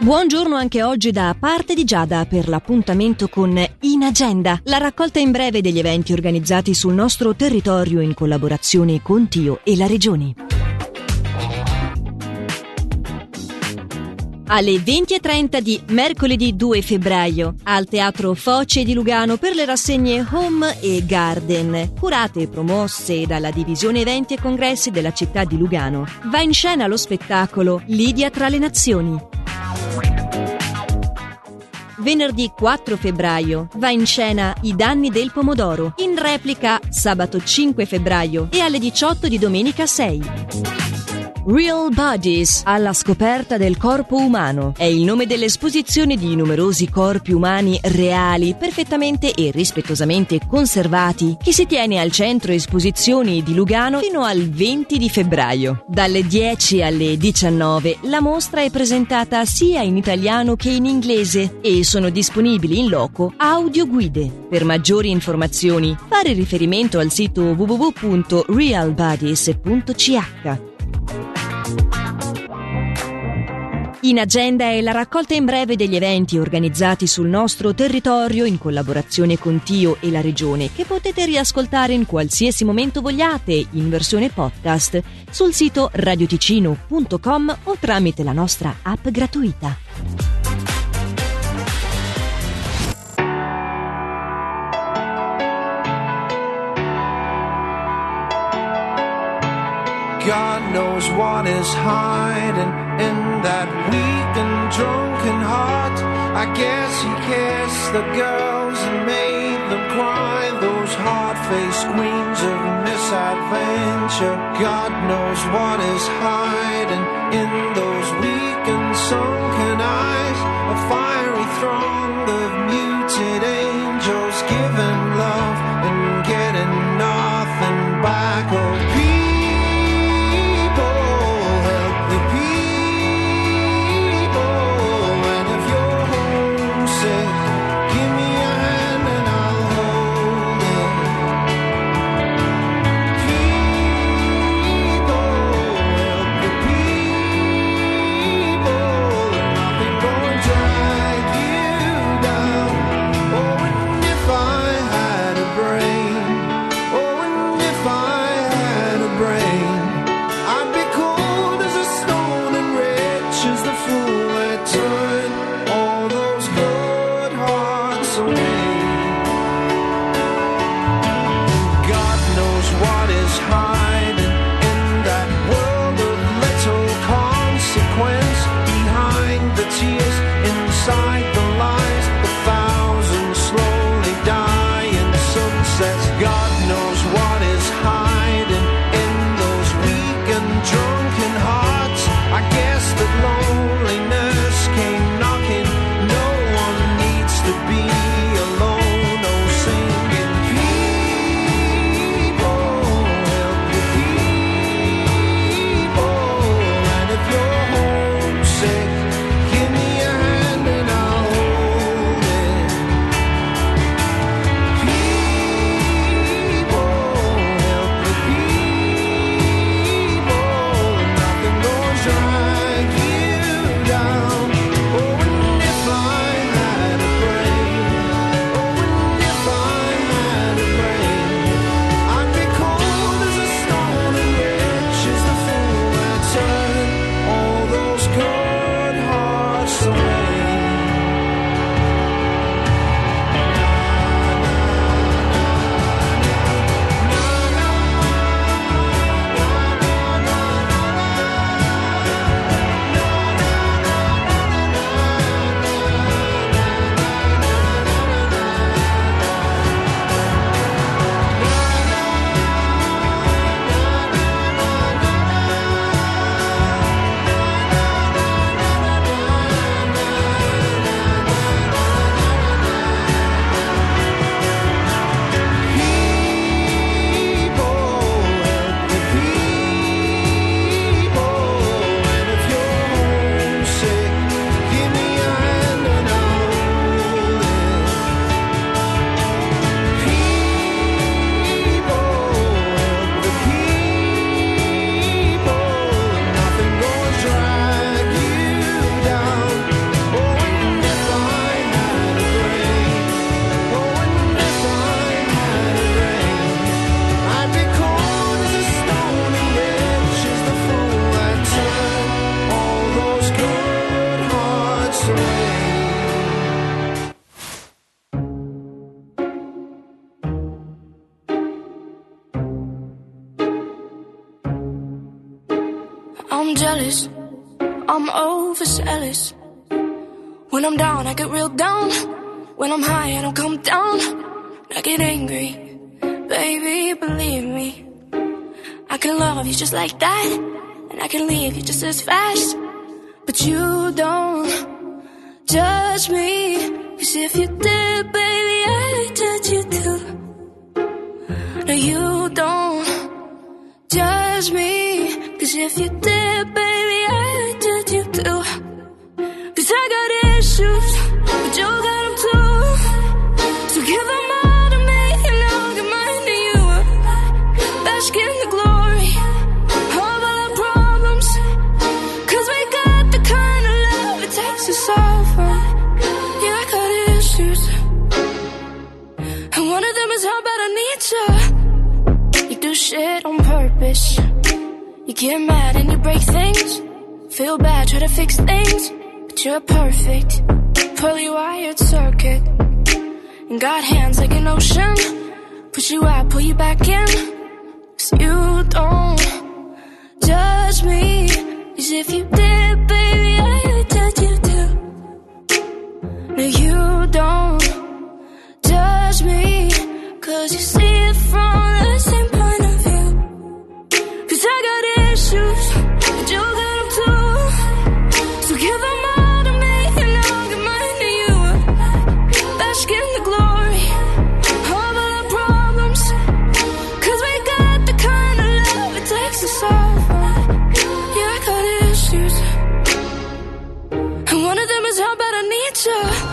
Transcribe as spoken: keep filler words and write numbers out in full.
Buongiorno anche oggi da parte di Giada per l'appuntamento con In Agenda, la raccolta in breve degli eventi organizzati sul nostro territorio in collaborazione con Tio e la Regione. Alle venti e trenta di mercoledì due febbraio al Teatro Foce di Lugano per le rassegne Home e Garden, curate e promosse dalla Divisione Eventi e Congressi della città di Lugano. Va in scena lo spettacolo Lidia tra le Nazioni. Venerdì quattro febbraio va in scena I danni del pomodoro, in replica sabato cinque febbraio e alle diciotto di domenica sei. Real Bodies, alla scoperta del corpo umano, è il nome dell'esposizione di numerosi corpi umani reali, perfettamente e rispettosamente conservati, che si tiene al centro esposizioni di Lugano fino al venti di febbraio. Dalle dieci alle diciannove la mostra è presentata sia in italiano che in inglese e sono disponibili in loco audioguide. Per maggiori informazioni fare riferimento al sito w w w punto real bodies punto c h. In Agenda è la raccolta in breve degli eventi organizzati sul nostro territorio in collaborazione con Tio e la Regione, che potete riascoltare in qualsiasi momento vogliate in versione podcast sul sito radioticino punto com o tramite la nostra app gratuita. God knows what is hiding in that weak and drunken heart. I guess he kissed the girls and made them cry, those hard-faced queens of misadventure. God knows what is hiding in those weak and sunken eyes, a fiery throng of muted angels giving love and getting nothing back. Oh, I'm jealous, I'm overzealous. When I'm down, I get real down. When I'm high, I don't come down. I get angry, baby, believe me. I can love you just like that, and I can leave you just as fast. But you don't judge me, 'cause if you did, baby, I'd judge you too. No, you don't judge me, 'cause if you did, baby, I'd judge you too. 'Cause I got issues, but you got them too. So give them all to me, and I'll give mine to you. Bask in the glory of all our problems, 'cause we got the kind of love it takes to solve them. Yeah, I got issues, and one of them is how bad I need you. You do shit on purpose. You get mad and you break things. Feel bad, try to fix things, but you're perfect. Fully wired circuit, and got hands like an ocean. Push you out, pull you back in. 'Cause you don't judge me, 'cause if you did, baby, I would judge you too. No, you don't judge me, 'cause you see it from the same point of view. 'Cause I got issues, but you got them too. So give them all to me, and I'll give mine to you. Bask in the glory of all our problems, 'cause we got the kind of love it takes to solve them. Yeah, I got issues, and one of them is how bad I need you.